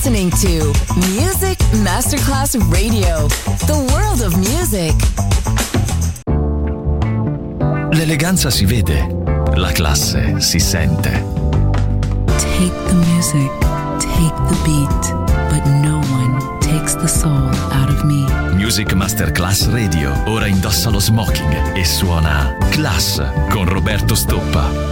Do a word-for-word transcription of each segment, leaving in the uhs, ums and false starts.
listening to Music Masterclass Radio, the world of music. L'eleganza si vede, la classe si sente. Take the music, take the beat, but no one takes the soul out of me. Music Masterclass Radio, ora indossa lo smoking e suona Class con Roberto Stoppa.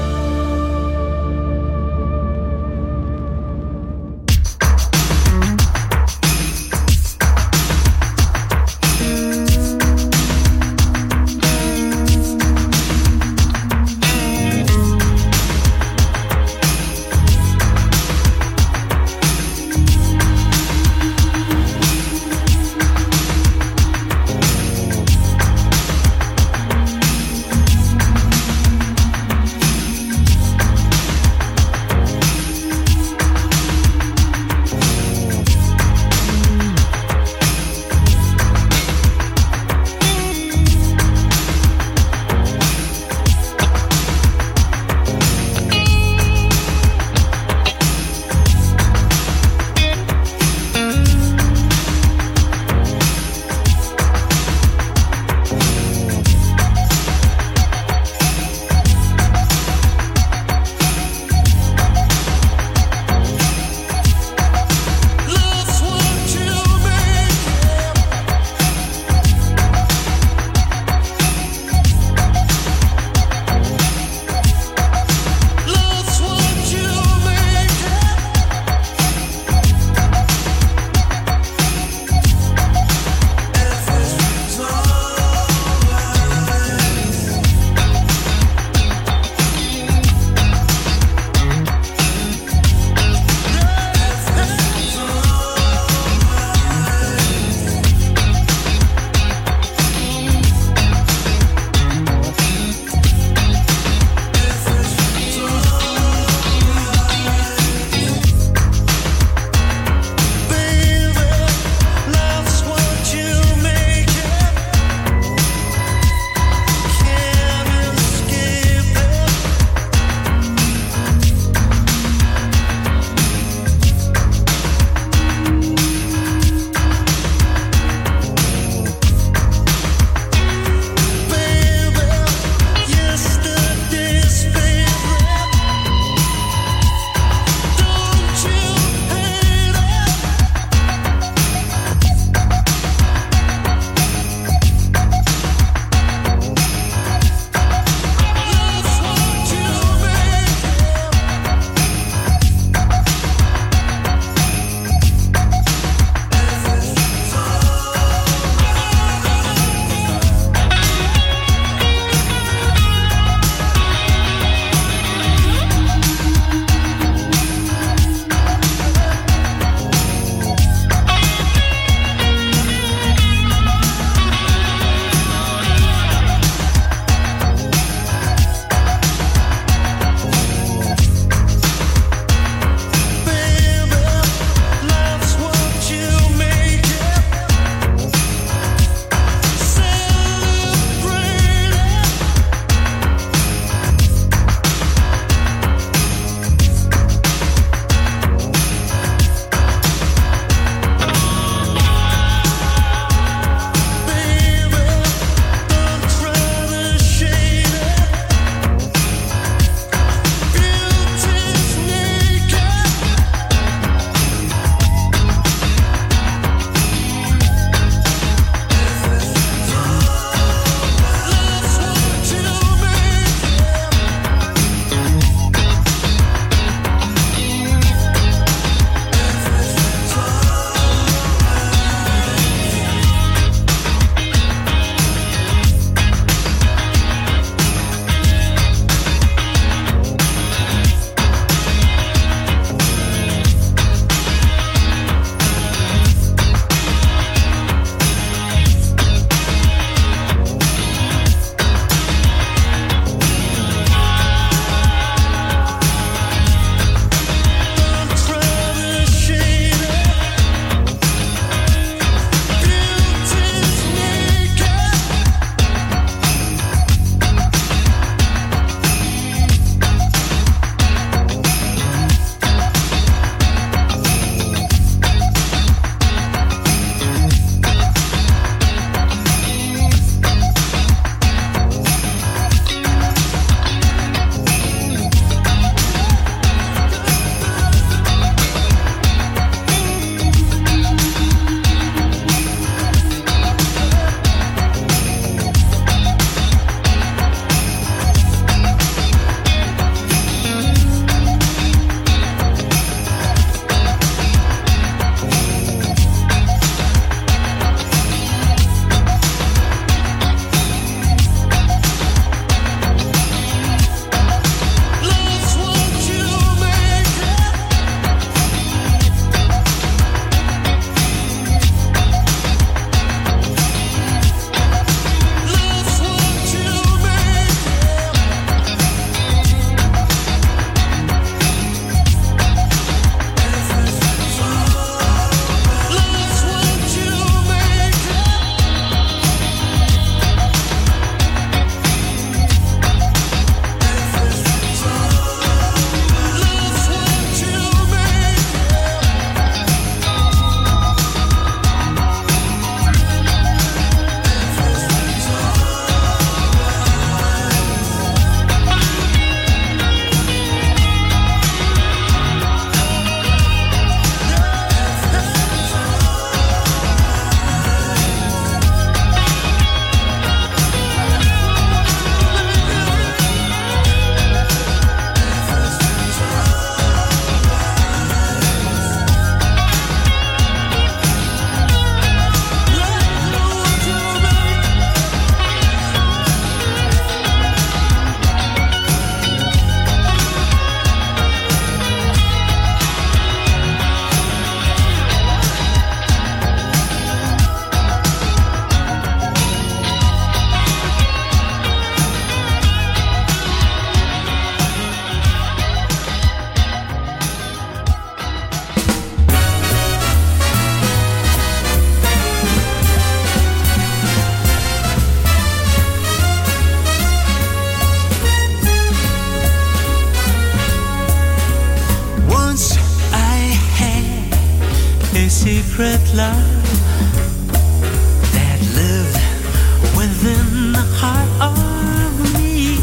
secret love that lived within the heart of me.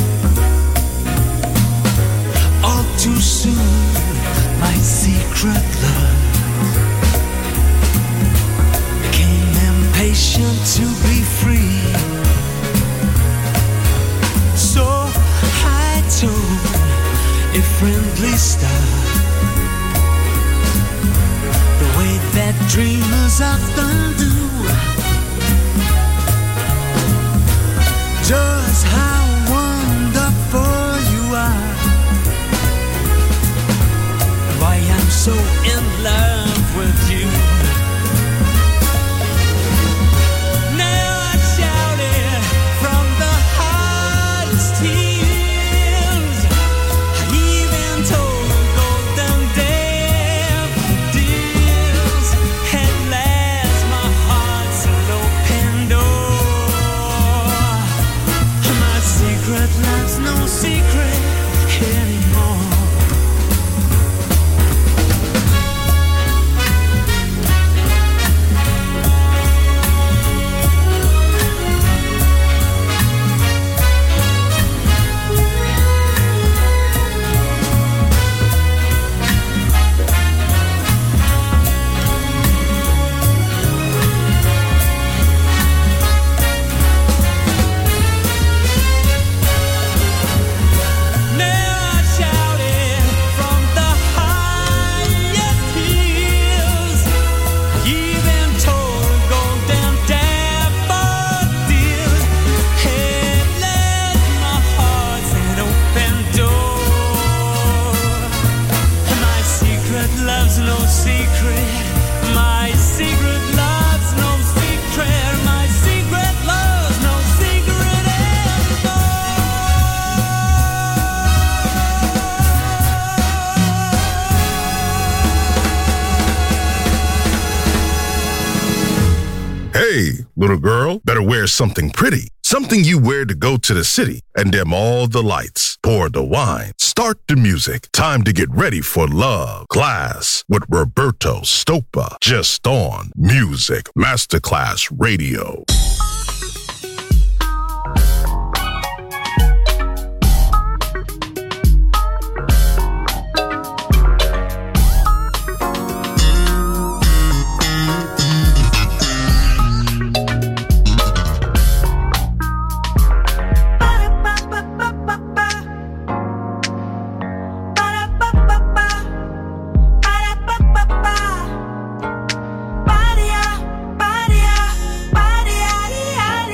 All too soon, my secret love became impatient to be free. So I told a friendly star, the way that dreamers often do, just how wonderful you are, why I'm so in love with you. Now I shout it from the hardest tears. I even told them golden daffodils. At last my heart's an open door. My secret love's no secret anymore. Hey, little girl, better wear something pretty. Something you wear to go to the city and dim all the lights. Pour the wine. Start the music. Time to get ready for love. Class with Roberto Stoppa. Just on Music Masterclass Radio. Body, body, body,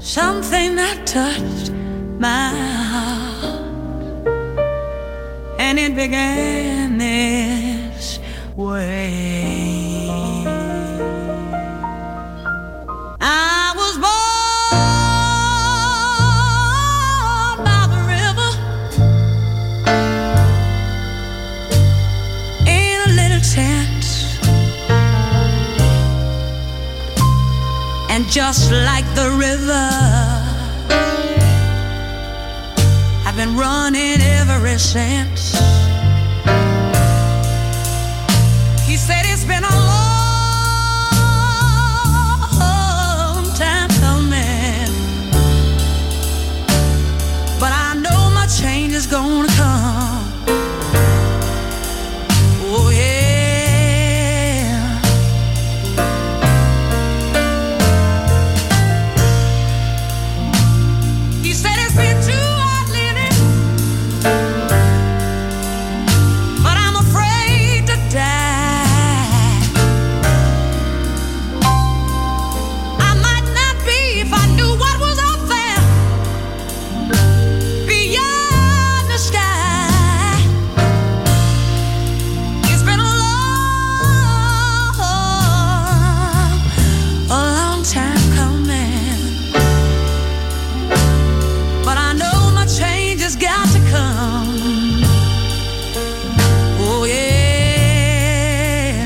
something that touched my heart, and it began this way. I was born by the river in a little tent, and just like the river, I've been running ever since. He said it's been a long time coming, but I know my change is gonna come. Oh yeah. He said it's been too hard living, but I'm afraid to die. I might not be if I knew what was up there beyond the sky. It's been a long, a long time coming, but I know my change has got to come. Oh yeah.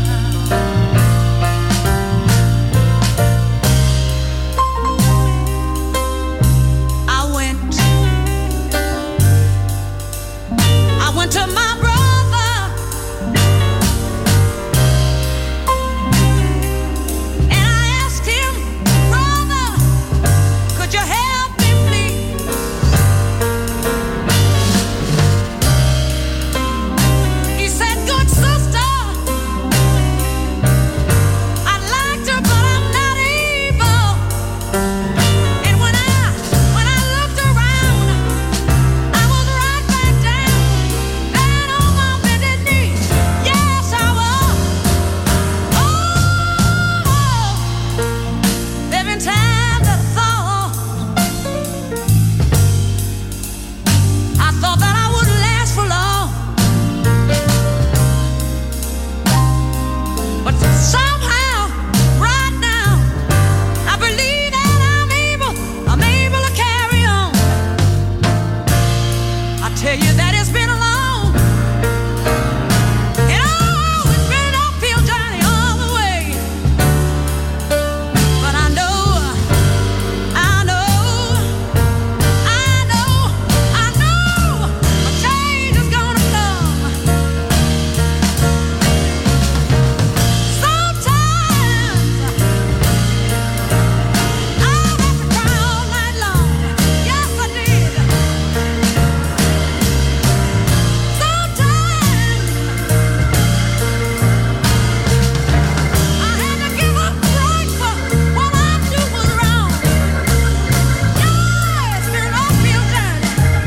I went, I went to my brother, and I asked him, brother, could you help me please? He said, good sister, I'd like to, but I'm not able. And when I, when I looked around, I was right back down, down on my bended knee. Yes, I was. Oh, there've been times I thought, I thought that I wouldn't last for long, but somehow, right now, I believe that I'm able, I'm able to carry on. I tell you that it's been a long, and oh, it's been an uphill journey all the way. But I know, I know, I know, I know, a change is gonna come. Sometimes I have to cry all night long. Yes, I did. Sometimes I had to give up right for what I knew was wrong. Yeah, it's been an uphill journey.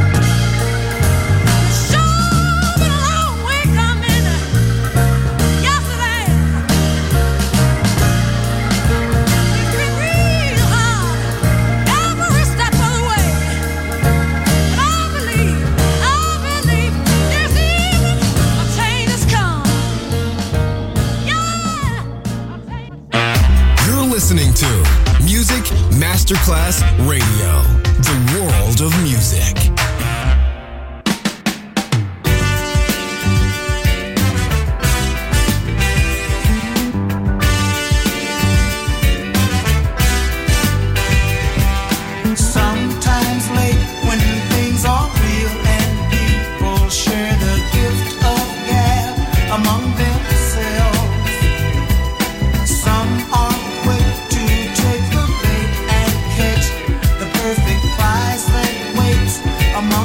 Sure been a long way coming. Yes, it has. It's been real hard every step of the way. But I believe, I believe this evening a change has come. Yeah, a change. You're listening to Music Masterclass Radio, the world of music. Sometimes late when things are real and people share the gift of gab among themselves. Some are quick to take the bait and catch the perfect prize that waits among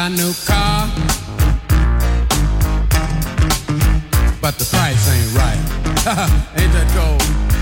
buy a new car, but the price ain't right. Ain't that cold?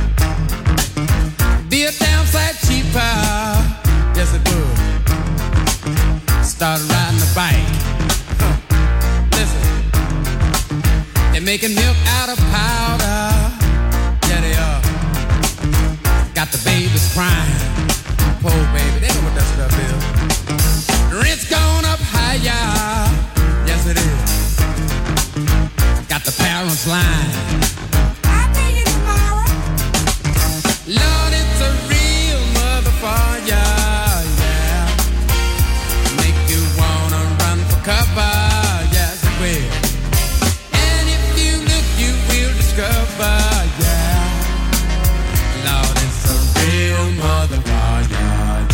Be a damn sight cheaper. Yes, it would. Start riding the bike. Huh. Listen, they're making milk out of powder. Yeah, they are. Got the babies crying. Poor baby, they know what that stuff is. Rent's gone up higher. Yes, it is. Got the parents lying. I'll pay you tomorrow. Lord, it's a real motherfucker, yeah. Make you wanna run for cover, yes it will. And if you look, you will discover, yeah. Lord, it's a real motherfucker, yeah.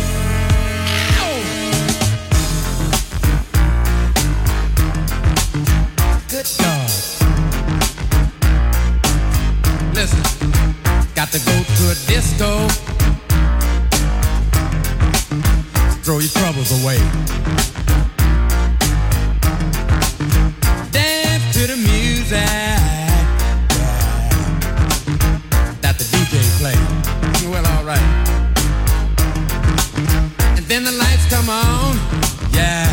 Good God. Listen, got to go to a disco. Throw your troubles away. Dance to the music, yeah, that the D J play. Well, all right. And then the lights come on, yeah,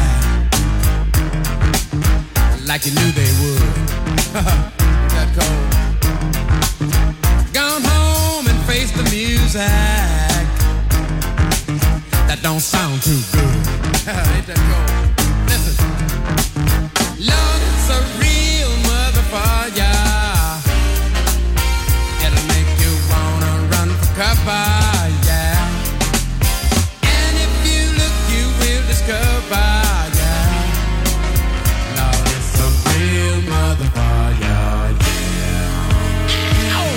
like you knew they would. That cold. Gone home and face the music. That don't sound too good. Ain't that cold? Listen. Lord, it's a real motherfucker. It'll make you wanna run for cover, yeah. And if you look, you will discover, yeah. Lord, it's a real motherfucker, yeah. Oh.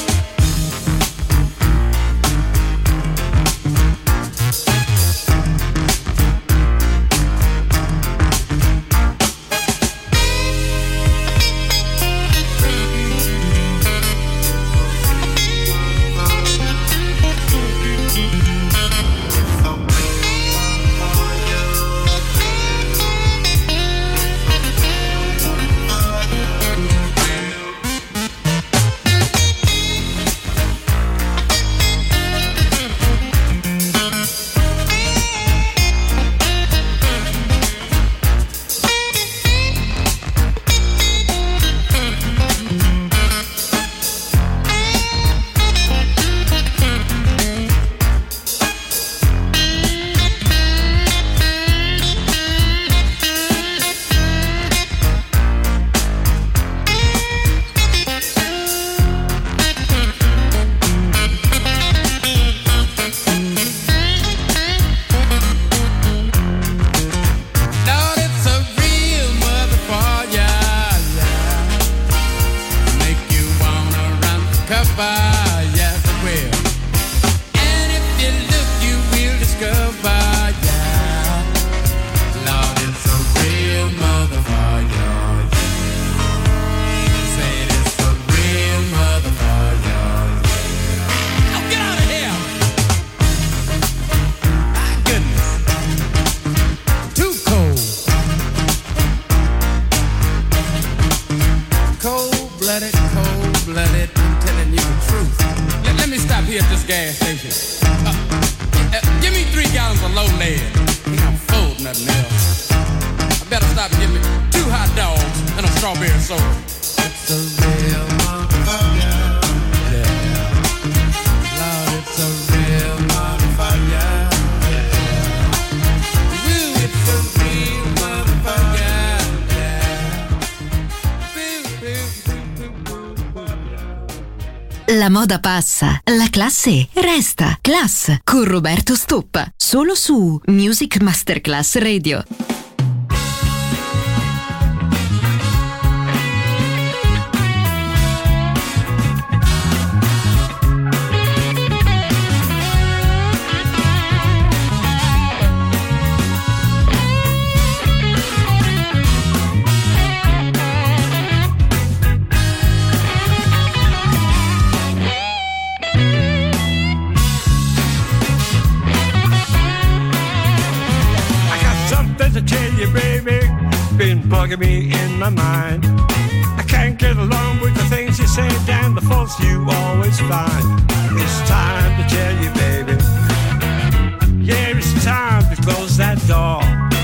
La moda passa, la classe resta. Class con Roberto Stoppa, solo su Music Masterclass Radio. To change bugging me in my mind. I can't get along with the things you say and the faults you always find. It's time to tell you, baby. Yeah, it's time to close that door.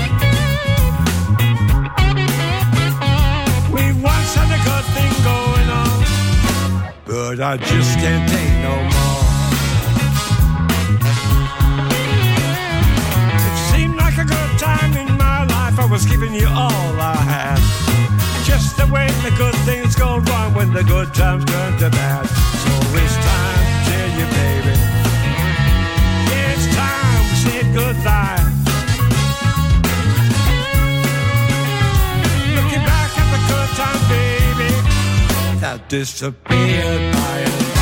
We once had a good thing going on, but I just can't take no more. It seemed like a good time in my life. I was giving you all I had. Just the way the good things go wrong when the good times turn to bad. So it's time to tell you, baby. Yeah, it's time we said goodbye. Looking back at the good time, baby, that disappeared by and by.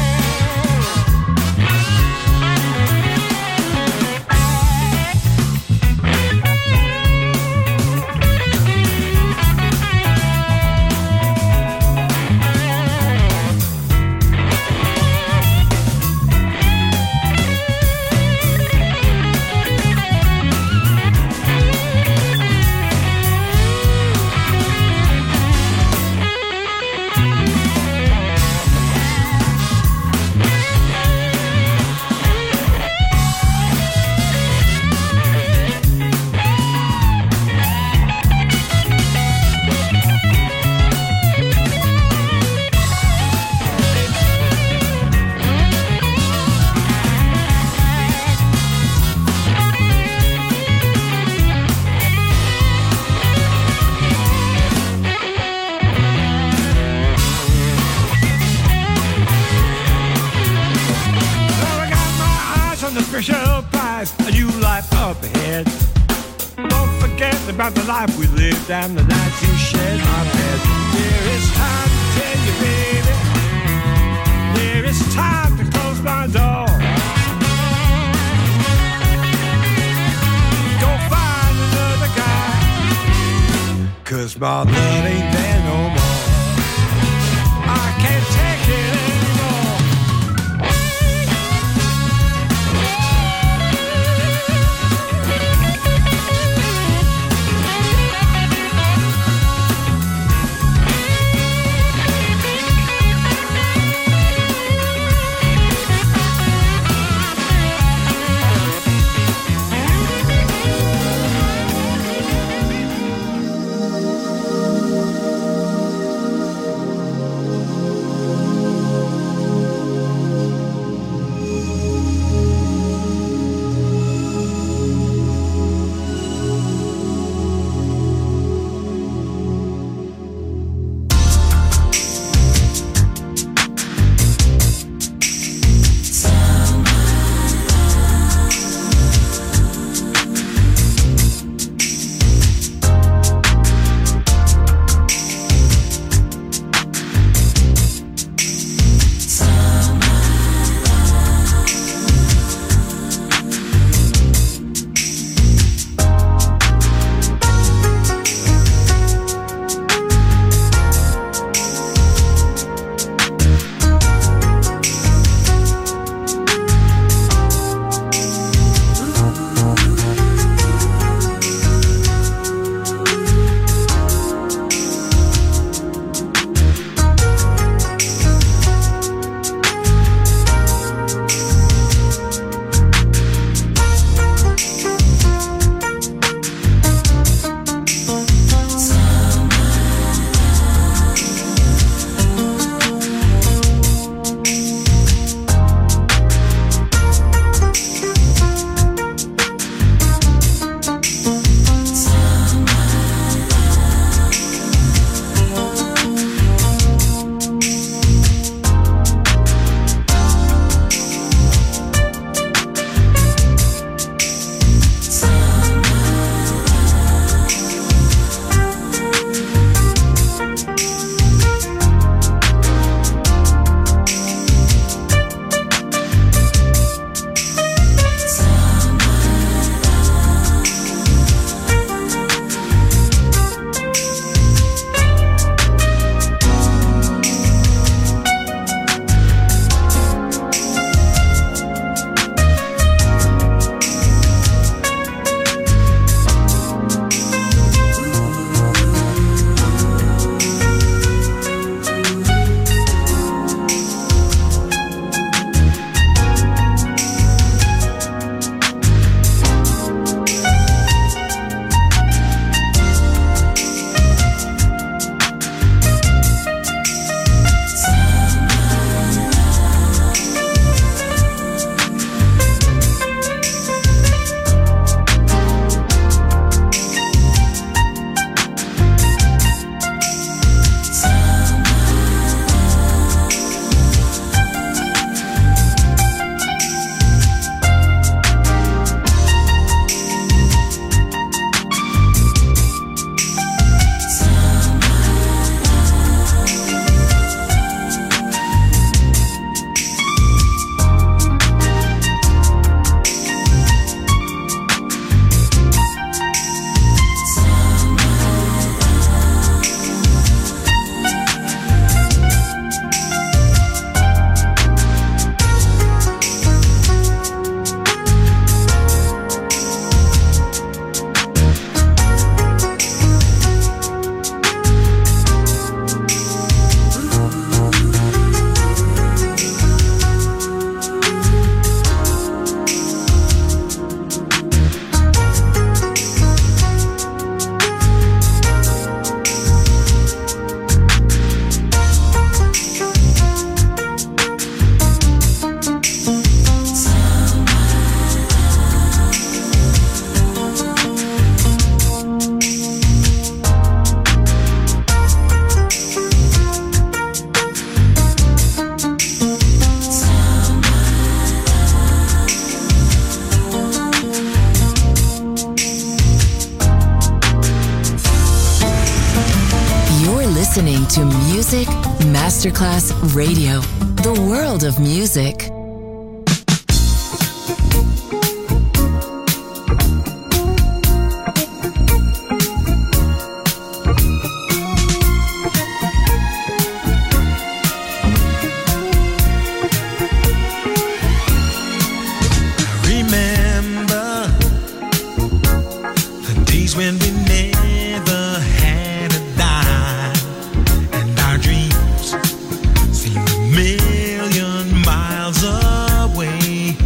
About the life we lived and the nights you shared my bed. There is time to tell you, baby. There is time to close my door. Go find another guy, 'cause my love ain't there no more. I can't take it anymore. Music Masterclass Radio. The world of music. When we never had a dime, and our dreams seemed a million miles away.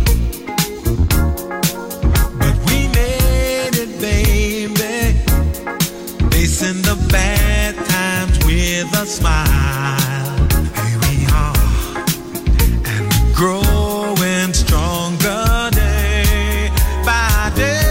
But we made it, baby, facing the bad times with a smile. Here we are, and we're growing stronger day by day.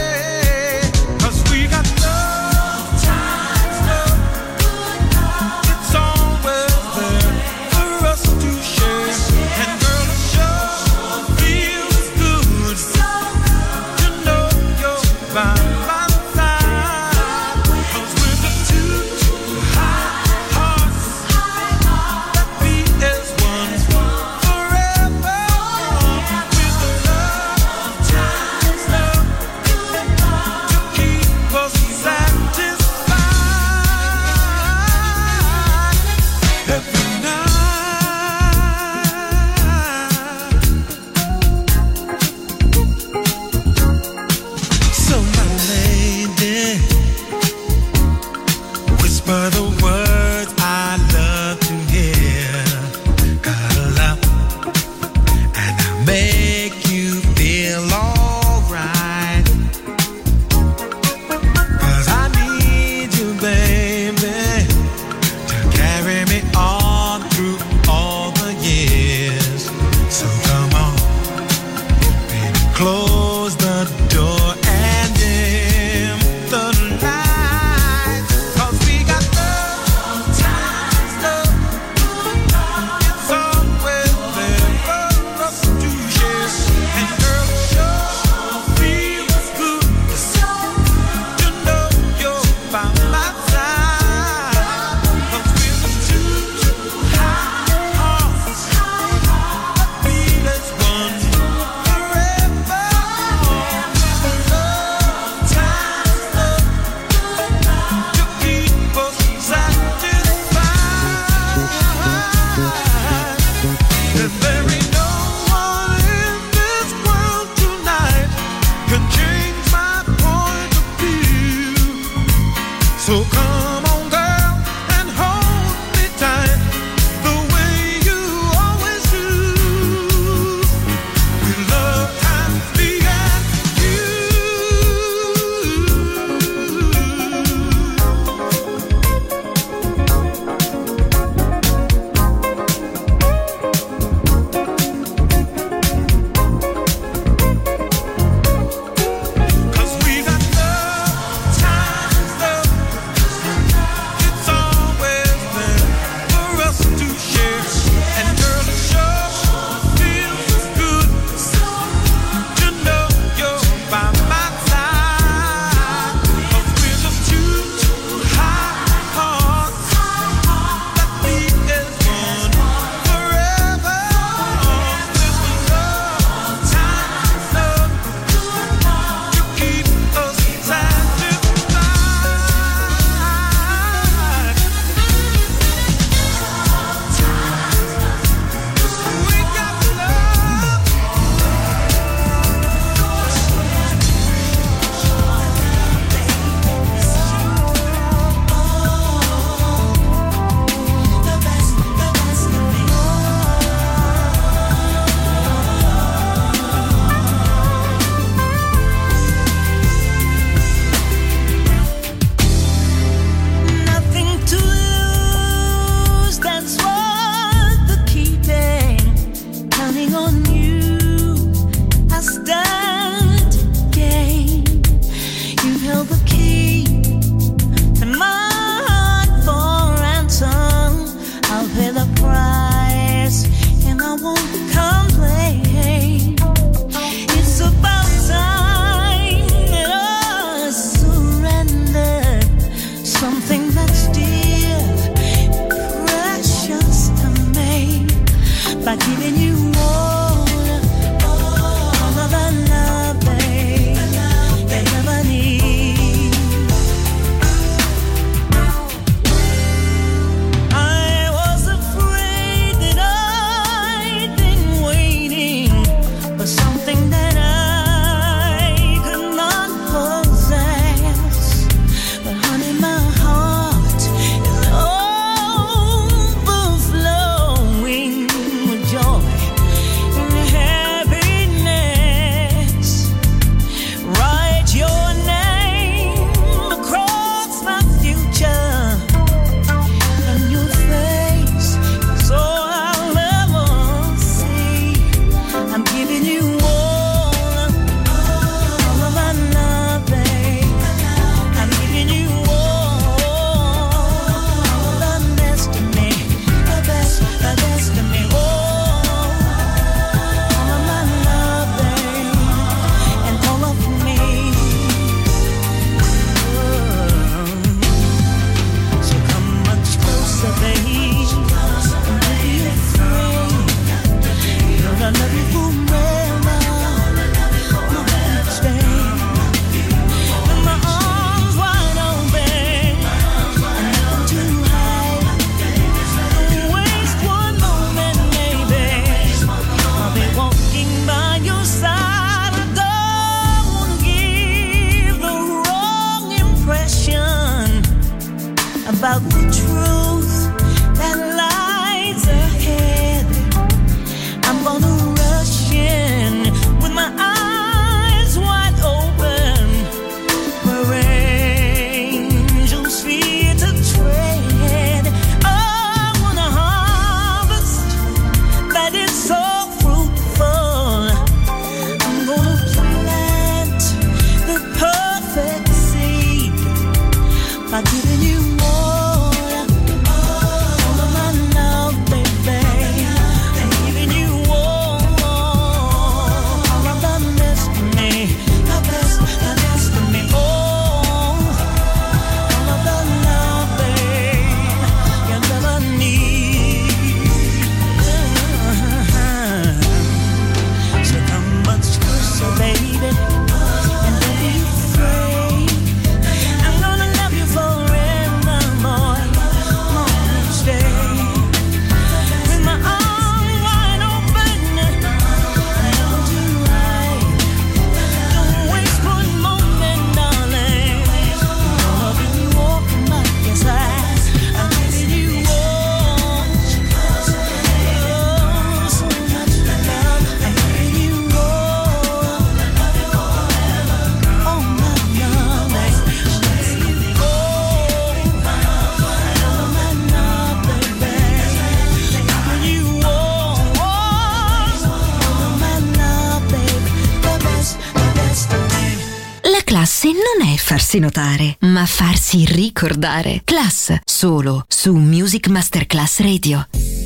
non è farsi notare, ma farsi ricordare. Class, solo su Music Masterclass Radio.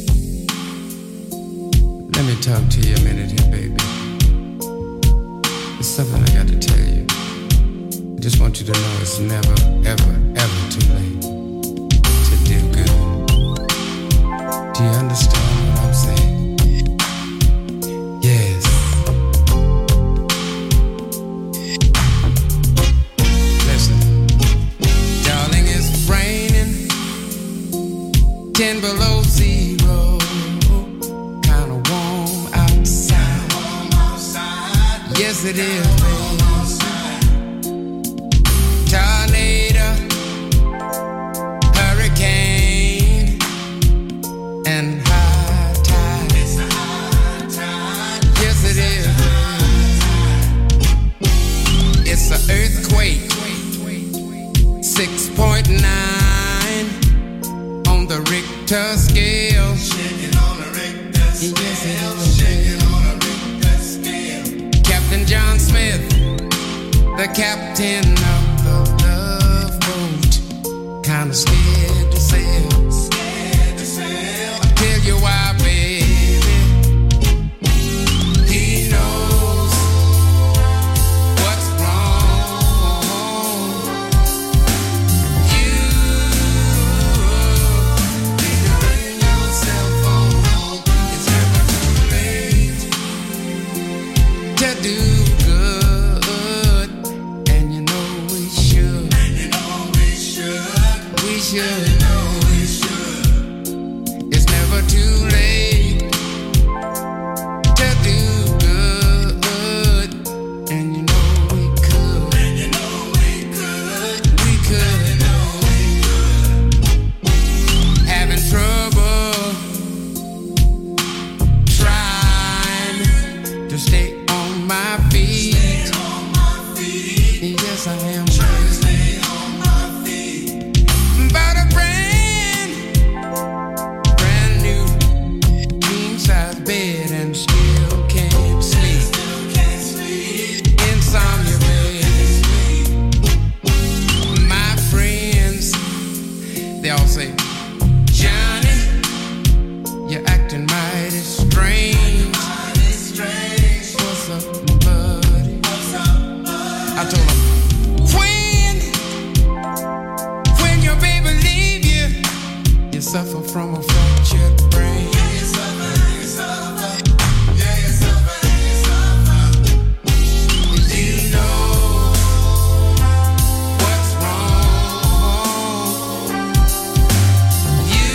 Let me talk to you a minute here, baby. There's something I got to tell you. I just want you to know it's never, ever, ever too late to do good. Do you understand what I'm saying? Yes. Listen, darling, it's raining, ten below zero. Kinda warm outside. Yes, it is, baby. Tornado, hurricane, and high tide. Yes, it is. It's an earthquake, six point nine on the Richter scale. Shaking on the Richter scale. Yes, it is. Shaking on the Richter scale. Captain John Smith, the captain of the love boat, kinda scared to sail. Scared to sail. I'll tell you why, baby. He knows what's wrong. You need to bring yourself home. It's never too late to do good, and you know we should. And you know we should. We should. And you know we should. It's never too late to do good, and you know we could. And you know we could. We could. And you know we could. Having trouble trying to stay on my feet. Yes, I am. Bought a brand, brand new king size bed and still can't sleep. Insomnia, baby. My friends, they all say, Johnny, you're acting mighty strange. What's up, buddy? I told him, when, when your baby leave you, you suffer from a fractured brain. Yeah, you suffer, you suffer. Yeah, you suffer, you suffer. You know what's wrong. You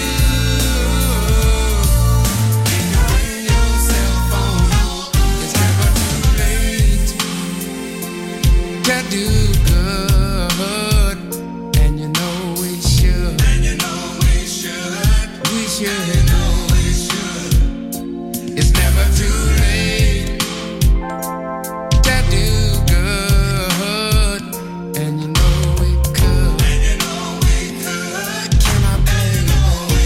need to bring yourself home. It's never too late to do good, and you know we should. And you know we should. We should. And you know we should. It's never too late to do good, and you know we could. And you know we could. Can I play? And you know we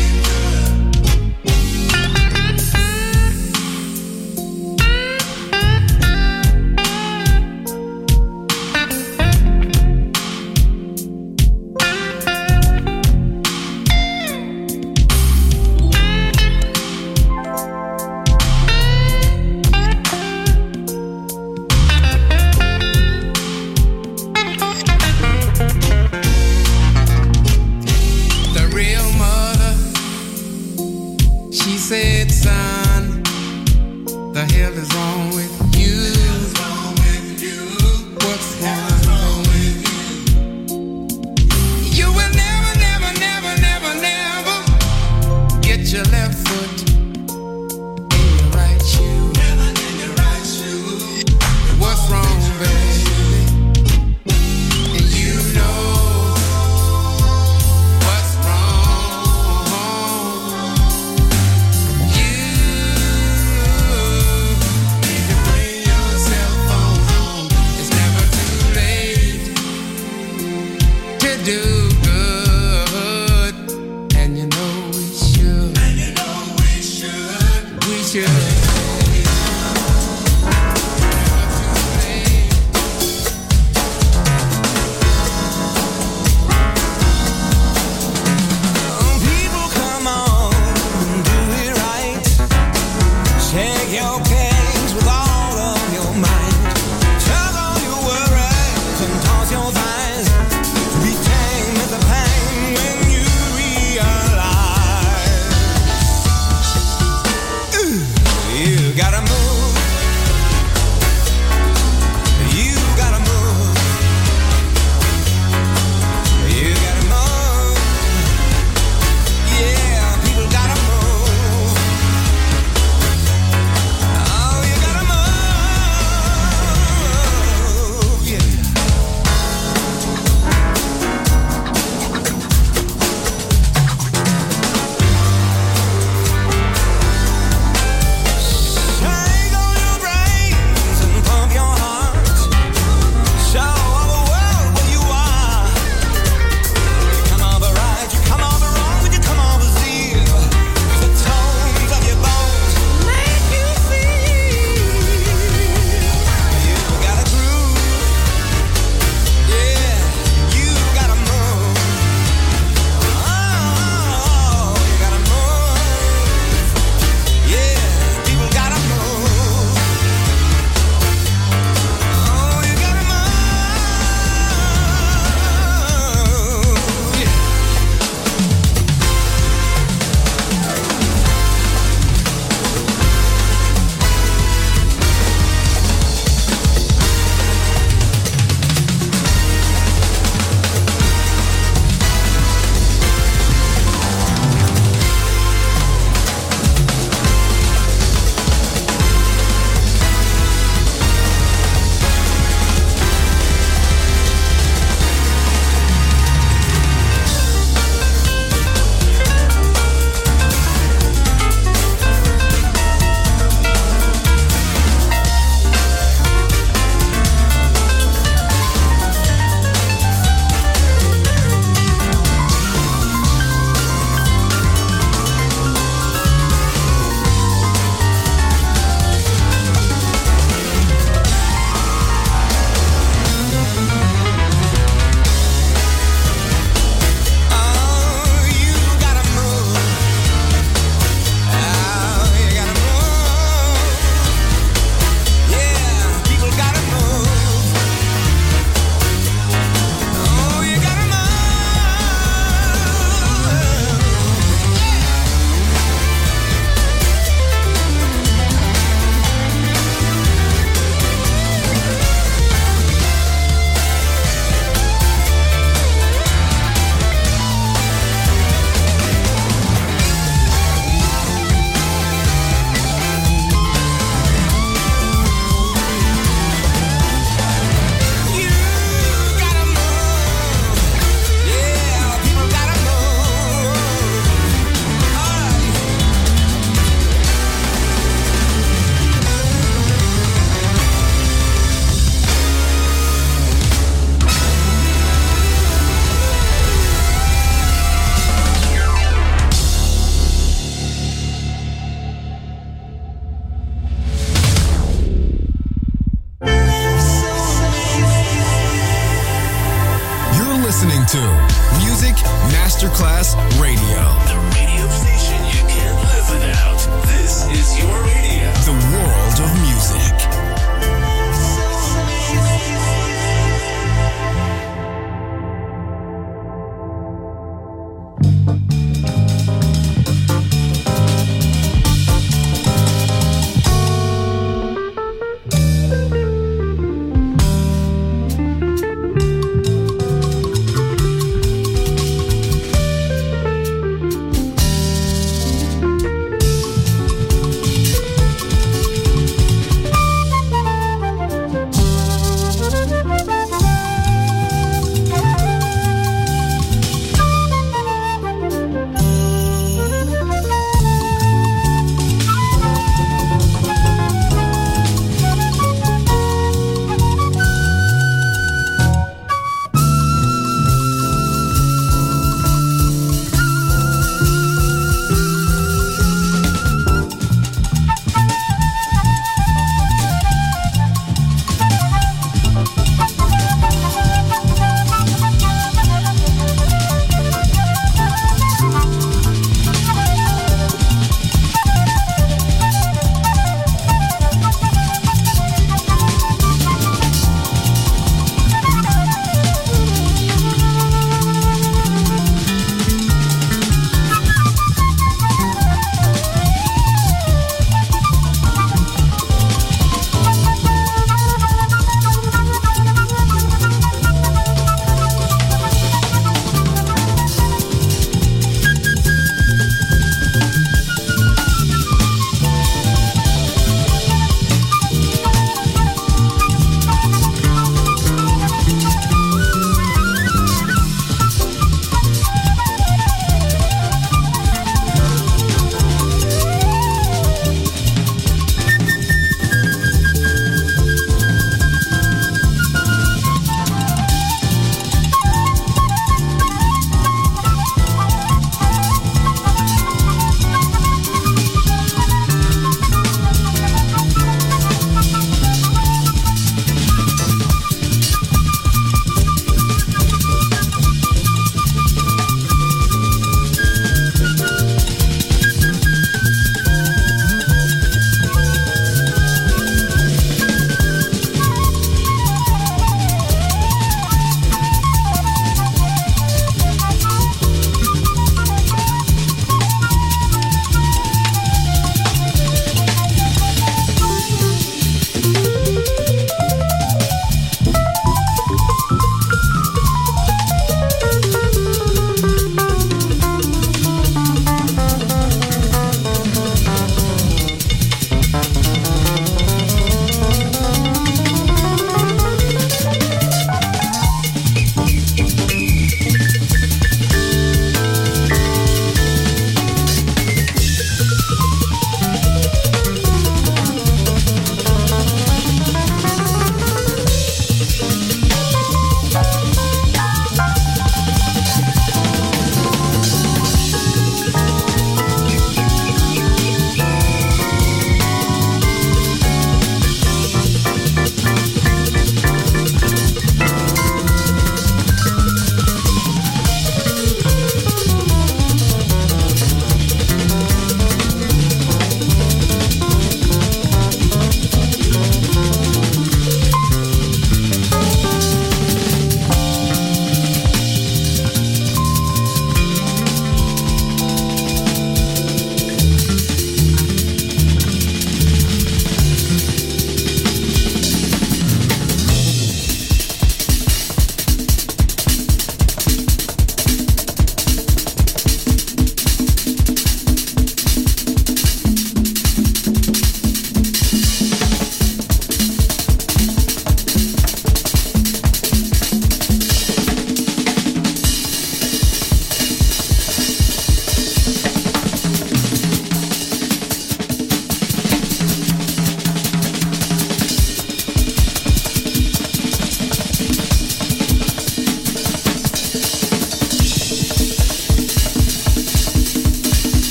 The real mother, she said, son, the hell is wrong with you? What's wrong with you? What's wrong with you? You will never, never, never, never, never get your left foot in your right shoe. Never in your right shoe. What's wrong, baby? And you know what's wrong. You need to bring yourself home. It's never too late to do good, and you know we should. And you know we should. We should. Never too late. listening to Music Masterclass Radio. The radio station you can't live without. This is your radio. The world of music.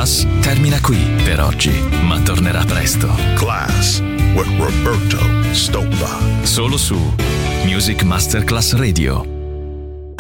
Masterclass termina qui per oggi, ma tornerà presto. Class with Roberto Stoppa. Solo su Music Masterclass Radio.